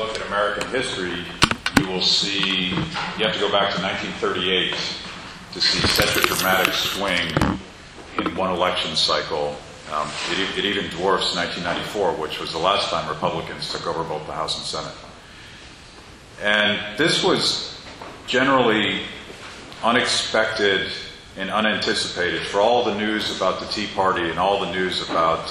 look at American history, you will see, you have to go back to 1938 to see such a dramatic swing in one election cycle. It even dwarfs 1994, which was the last time Republicans took over both the House and Senate. And this was generally unexpected and unanticipated. For all the news about the Tea Party and all the news about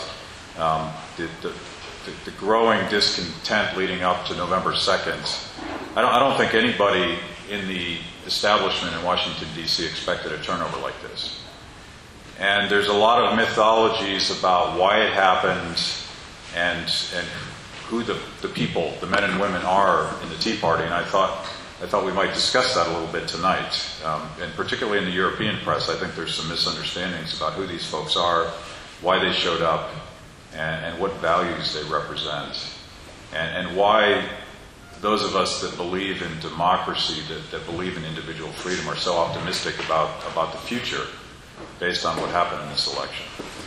the growing discontent leading up to November 2nd, I don't think anybody in the establishment in Washington, D.C. expected a turnover like this. And there's a lot of mythologies about why it happened and who the people, the men and women are in the Tea Party, and I thought we might discuss that a little bit tonight. And particularly in the European press, I think there's some misunderstandings about who these folks are, why they showed up, and what values they represent, and why those of us that believe in democracy, that believe in individual freedom, are so optimistic about the future based on what happened in this election.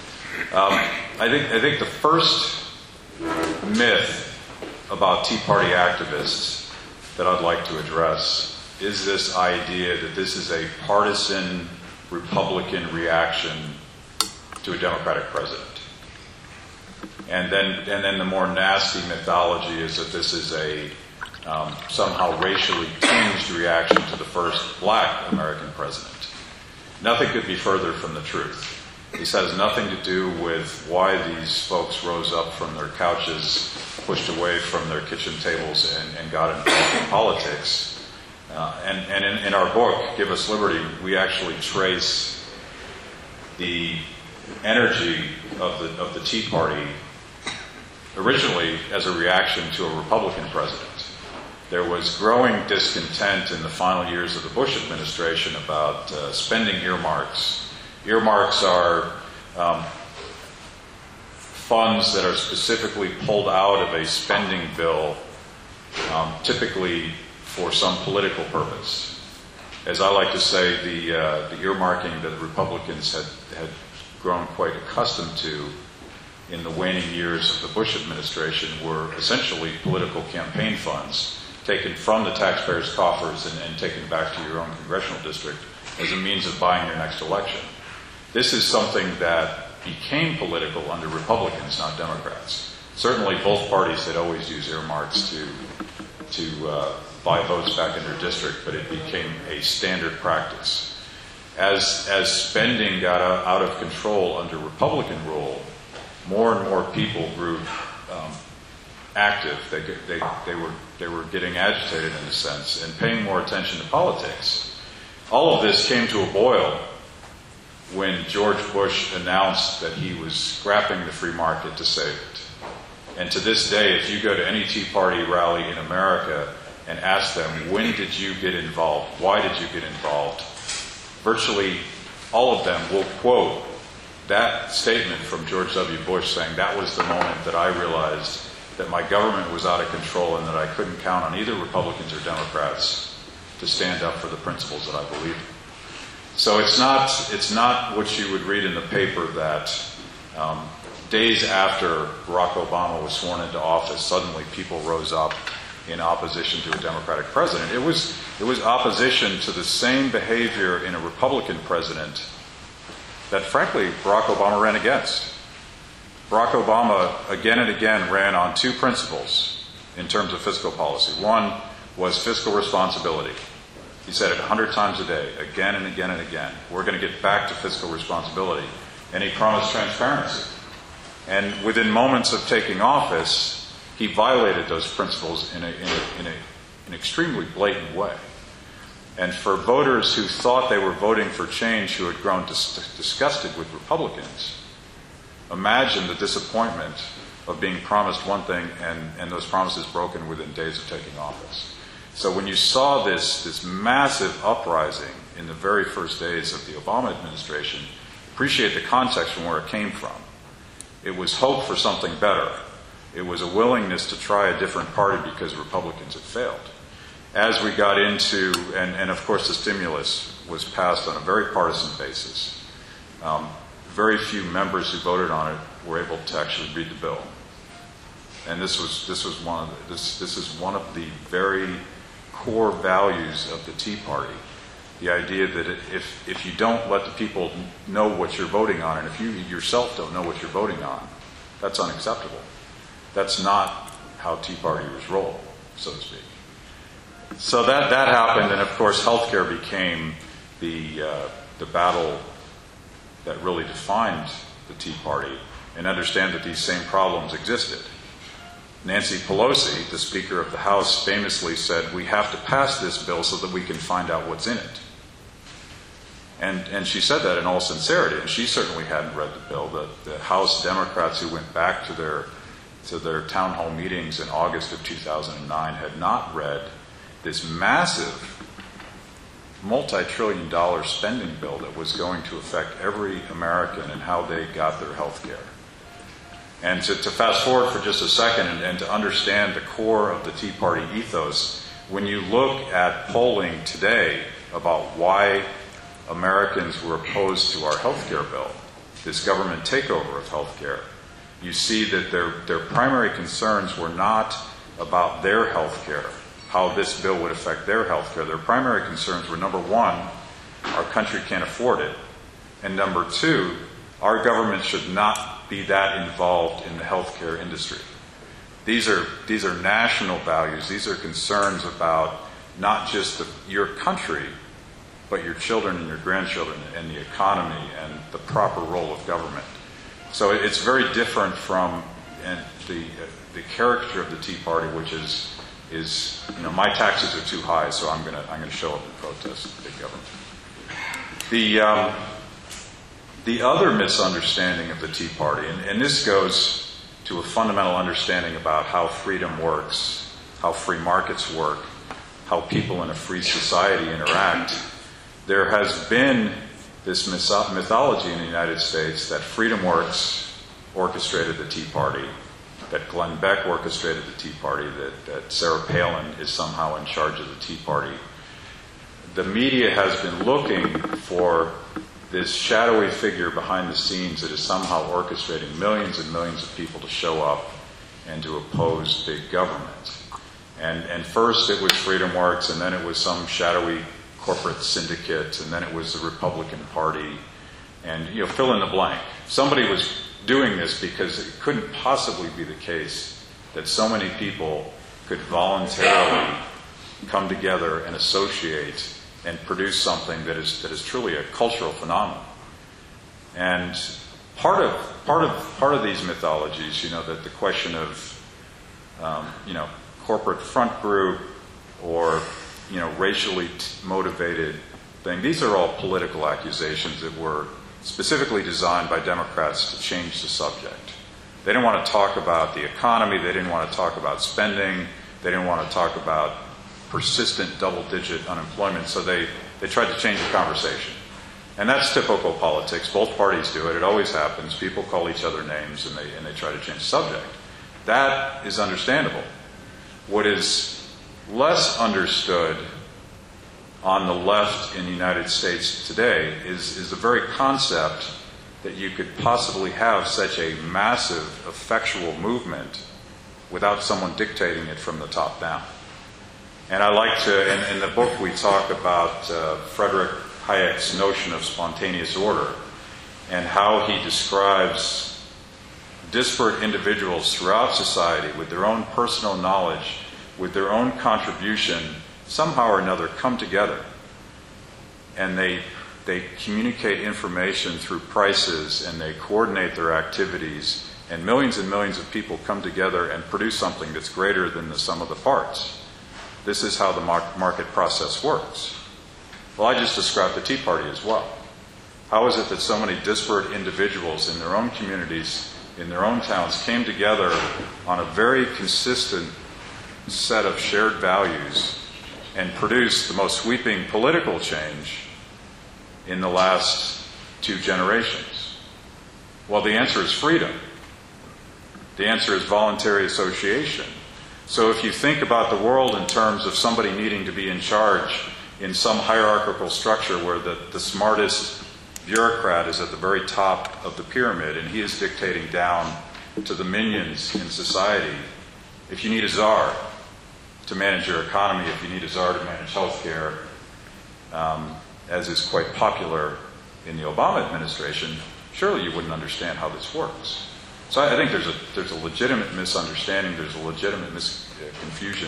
I think the first myth about Tea Party activists that I'd like to address is this idea that this is a partisan Republican reaction to a Democratic president. And then the more nasty mythology is that this is a somehow racially tinged reaction to the first black American president. Nothing could be further from the truth. This has nothing to do with why these folks rose up from their couches, pushed away from their kitchen tables, and got involved in politics. And in our book, Give Us Liberty, we actually trace the energy of the Tea Party originally as a reaction to a Republican president. There was growing discontent in the final years of the Bush administration about spending earmarks. Earmarks are funds that are specifically pulled out of a spending bill, typically for some political purpose. As I like to say, the earmarking that the Republicans had grown quite accustomed to in the waning years of the Bush administration were essentially political campaign funds taken from the taxpayers' coffers and taken back to your own congressional district as a means of buying your next election. This is something that became political under Republicans, not Democrats. Certainly both parties had always used earmarks to buy votes back in their district, but it became a standard practice. As spending got out of control under Republican rule, more and more people grew active. They were getting agitated in a sense and paying more attention to politics. All of this came to a boil when George Bush announced that he was scrapping the free market to save it. And to this day, if you go to any Tea Party rally in America and ask them, when did you get involved? Why did you get involved? Virtually all of them will quote that statement from George W. Bush saying, that was the moment that I realized that my government was out of control and that I couldn't count on either Republicans or Democrats to stand up for the principles that I believe in. So it's not what you would read in the paper that days after Barack Obama was sworn into office, suddenly people rose up in opposition to a Democratic president. It was opposition to the same behavior in a Republican president that, frankly, Barack Obama ran against. Barack Obama again and again ran on two principles in terms of fiscal policy. One was fiscal responsibility. He said it 100 times a day, again and again and again. We're going to get back to fiscal responsibility. And he promised transparency. And within moments of taking office, he violated those principles in an extremely blatant way. And for voters who thought they were voting for change, who had grown disgusted with Republicans, imagine the disappointment of being promised one thing and those promises broken within days of taking office. So when you saw this massive uprising in the very first days of the Obama administration, appreciate the context from where it came from. It was hope for something better. It was a willingness to try a different party because Republicans had failed. As we got into, and of course the stimulus was passed on a very partisan basis. Very few members who voted on it were able to actually read the bill. and this is one of the very core values of the Tea Party. The idea that if you don't let the people know what you're voting on, and if you yourself don't know what you're voting on, that's unacceptable. That's not how Tea Partiers roll, so to speak. So that happened, and of course, healthcare became the battle that really defined the Tea Party, and understand that these same problems existed. Nancy Pelosi, the Speaker of the House, famously said, "We have to pass this bill so that we can find out what's in it." And she said that in all sincerity, and she certainly hadn't read the bill. The House Democrats who went back to their town hall meetings in August of 2009 had not read this massive multi-trillion-dollar spending bill that was going to affect every American and how they got their health care. And to fast forward for just a second and to understand the core of the Tea Party ethos, when you look at polling today about why Americans were opposed to our health care bill, this government takeover of health care, you see that their primary concerns were not about their health care, how this bill would affect their health care. Their primary concerns were, number one, our country can't afford it, and number two, our government should not be that involved in the healthcare industry. These are national values. These are concerns about not just your country, but your children and your grandchildren and the economy and the proper role of government. So it's very different from the caricature of the Tea Party, which is my taxes are too high, so I'm going to show up and protest big government. The other misunderstanding of the Tea Party, and this goes to a fundamental understanding about how freedom works, how free markets work, how people in a free society interact. There has been this mythology in the United States that Freedom Works orchestrated the Tea Party, that Glenn Beck orchestrated the Tea Party, that Sarah Palin is somehow in charge of the Tea Party. The media has been looking for this shadowy figure behind the scenes that is somehow orchestrating millions and millions of people to show up and to oppose big government. And first it was Freedom Works, and then it was some shadowy corporate syndicate, and then it was the Republican Party, and fill in the blank. Somebody was doing this because it couldn't possibly be the case that so many people could voluntarily come together and associate and produce something that is truly a cultural phenomenon. And part of these mythologies, that the question of corporate front group or racially motivated thing, these are all political accusations that were specifically designed by Democrats to change the subject. They didn't want to talk about the economy, they didn't want to talk about spending, they didn't want to talk about persistent double-digit unemployment, so they tried to change the conversation. And that's typical politics. Both parties do it. It always happens. People call each other names and they try to change the subject. That is understandable. What is less understood on the left in the United States today is the very concept that you could possibly have such a massive, effectual movement without someone dictating it from the top down. And I like to, in the book we talk about Frederick Hayek's notion of spontaneous order and how he describes disparate individuals throughout society with their own personal knowledge, with their own contribution, somehow or another come together. And they communicate information through prices, and they coordinate their activities, and millions of people come together and produce something that's greater than the sum of the parts. This is how the market process works. Well, I just described the Tea Party as well. How is it that so many disparate individuals in their own communities, in their own towns, came together on a very consistent set of shared values and produced the most sweeping political change in the last 2 generations? Well, the answer is freedom. The answer is voluntary association. So if you think about the world in terms of somebody needing to be in charge in some hierarchical structure where the smartest bureaucrat is at the very top of the pyramid and he is dictating down to the minions in society, If you need a czar to manage your economy, if you need a czar to manage healthcare, as is quite popular in the Obama administration, surely you wouldn't understand how this works. So I think there's a legitimate misunderstanding, there's a legitimate confusion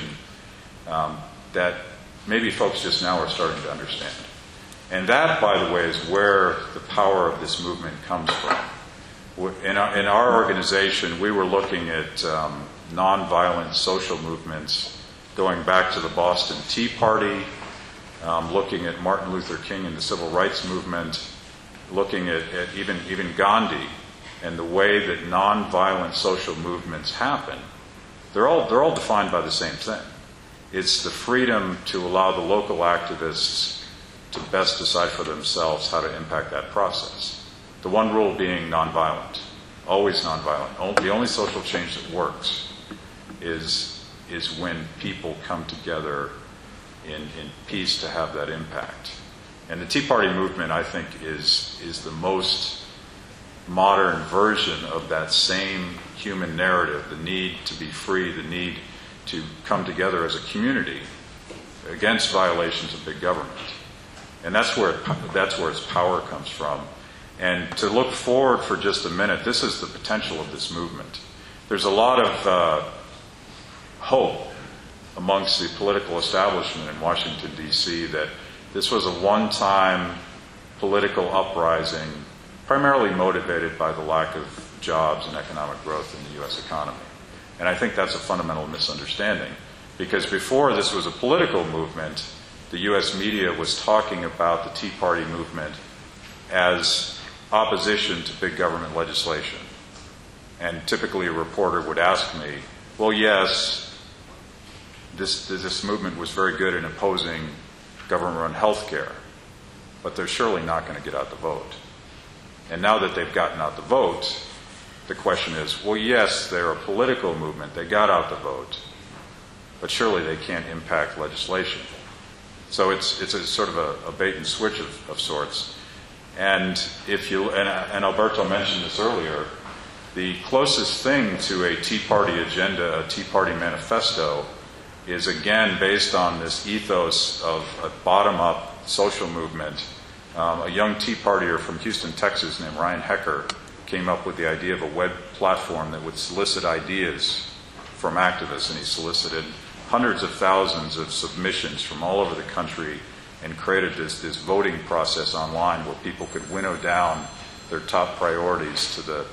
that maybe folks just now are starting to understand. And that, by the way, is where the power of this movement comes from. In our organization, we were looking at nonviolent social movements going back to the Boston Tea Party, looking at Martin Luther King and the Civil Rights Movement, looking at even Gandhi and the way that nonviolent social movements happen. They're all defined by the same thing. It's the freedom to allow the local activists to best decide for themselves how to impact that process. The one rule being nonviolent, always nonviolent. The only social change that works is when people come together in peace to have that impact. And the Tea Party movement, I think, is the most modern version of that same human narrative, the need to be free, the need to come together as a community against violations of big government. And that's where its power comes from. And to look forward for just a minute, this is the potential of this movement. There's a lot of hope amongst the political establishment in Washington, D.C., that this was a one-time political uprising, primarily motivated by the lack of jobs and economic growth in the U.S. economy. And I think that's a fundamental misunderstanding, because before this was a political movement, the U.S. media was talking about the Tea Party movement as opposition to big government legislation. And typically a reporter would ask me, well, yes, this movement was very good in opposing government-run health care, but they're surely not going to get out the vote. And now that they've gotten out the vote, the question is, well, yes, they're a political movement, they got out the vote, but surely they can't impact legislation. So it's a sort of a bait and switch of sorts. And and Alberto mentioned this earlier, the closest thing to a Tea Party agenda, a Tea Party manifesto, is again based on this ethos of a bottom-up social movement. A young Tea Partier from Houston, Texas, named Ryan Hecker, came up with the idea of a web platform that would solicit ideas from activists, and he solicited hundreds of thousands of submissions from all over the country and created this voting process online where people could winnow down their top priorities to the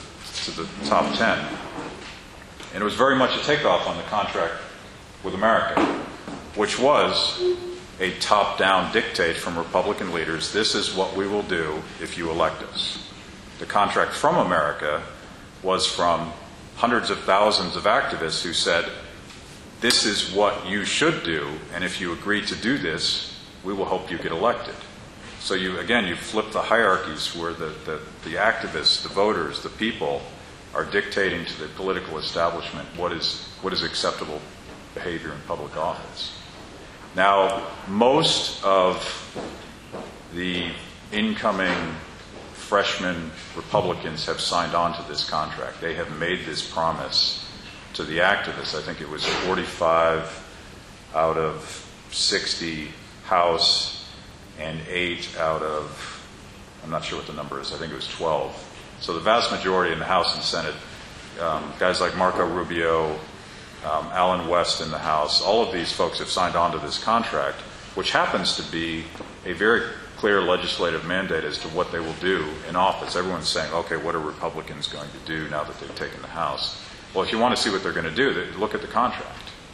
top 10. And it was very much a takeoff on the contract with America, which was a top-down dictate from Republican leaders: this is what we will do if you elect us. The contract from America was from hundreds of thousands of activists who said, this is what you should do, and if you agree to do this, we will help you get elected. So you flip the hierarchies where the activists, the voters, the people are dictating to the political establishment what is acceptable behavior in public office. Now, most of the incoming freshman Republicans have signed on to this contract. They have made this promise to the activists. I think it was 45 out of 60 House and 8 out of, I'm not sure what the number is, I think it was 12. So the vast majority in the House and Senate, guys like Marco Rubio, Alan West in the House, all of these folks have signed on to this contract, which happens to be a very clear legislative mandate as to what they will do in office. Everyone's saying, okay, what are Republicans going to do now that they've taken the House? Well, if you want to see what they're going to do, look at the contract.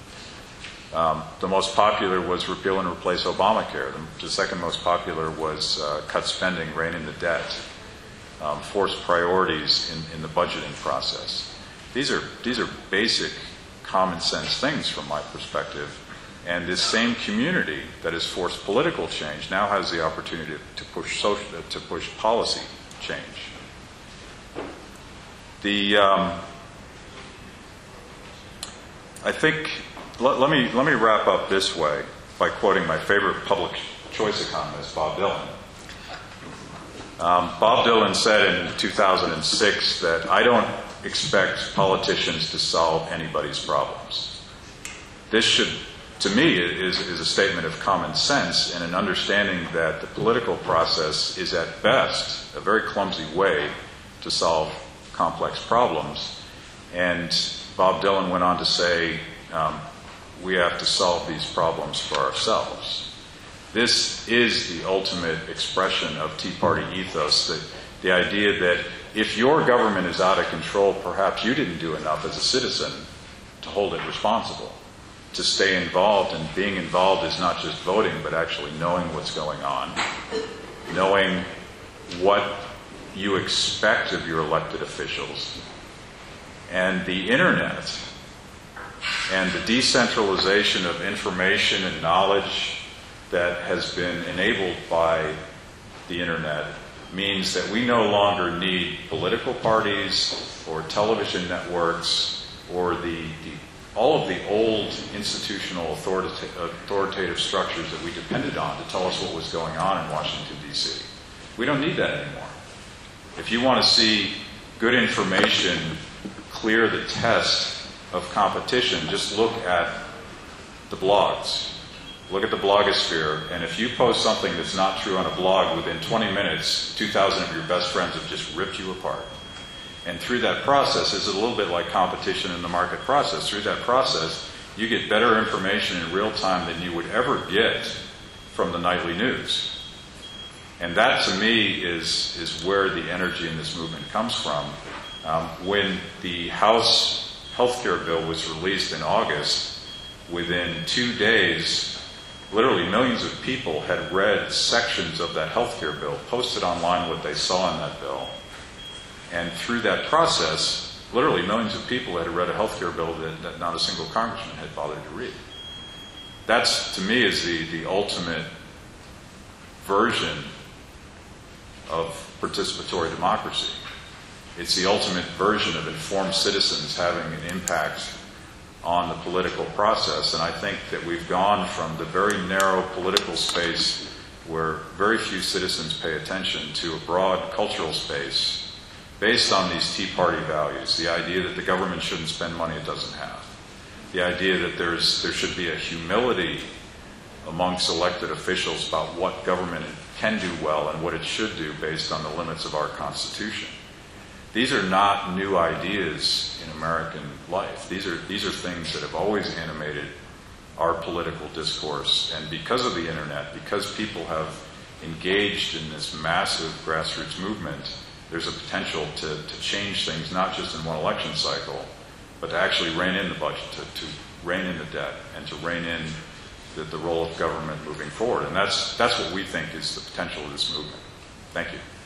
The most popular was repeal and replace Obamacare. The second most popular was cut spending, rein in the debt, force priorities in the budgeting process. These are basic common sense things from my perspective. And this same community that has forced political change now has the opportunity to push policy change. I think let me wrap up this way by quoting my favorite public choice economist, Bob Dylan. Bob Dylan said in 2006 that I don't expect politicians to solve anybody's problems. This should, to me, is a statement of common sense and an understanding that the political process is at best a very clumsy way to solve complex problems. And Bob Dylan went on to say, we have to solve these problems for ourselves. This is the ultimate expression of Tea Party ethos, that the idea that if your government is out of control, perhaps you didn't do enough as a citizen to hold it responsible, to stay involved. And being involved is not just voting, but actually knowing what's going on, knowing what you expect of your elected officials. And the internet and the decentralization of information and knowledge that has been enabled by the internet means that we no longer need political parties or television networks or all of the old institutional authoritative structures that we depended on to tell us what was going on in Washington, D.C. We don't need that anymore. If you want to see good information clear the test of competition, just look at the blogs. Look at the blogosphere, and if you post something that's not true on a blog, within 20 minutes, 2,000 of your best friends have just ripped you apart. And through that process, it's a little bit like competition in the market process. Through that process, you get better information in real time than you would ever get from the nightly news. And that, to me, is where the energy in this movement comes from. When the House healthcare bill was released in August, within 2 days, literally millions of people had read sections of that healthcare bill, posted online what they saw in that bill. And through that process, literally millions of people had read a healthcare bill that not a single congressman had bothered to read. That's, to me, is the ultimate version of participatory democracy. It's the ultimate version of informed citizens having an impact on the political process. And I think that we've gone from the very narrow political space where very few citizens pay attention to a broad cultural space based on these Tea Party values. The idea that the government shouldn't spend money it doesn't have. The idea that there should be a humility amongst elected officials about what government can do well and what it should do based on the limits of our Constitution. These are not new ideas in American life. These are things that have always animated our political discourse. And because of the internet, because people have engaged in this massive grassroots movement, there's a potential to change things, not just in one election cycle, but to actually rein in the budget, to rein in the debt, and to rein in the role of government moving forward. And that's what we think is the potential of this movement. Thank you.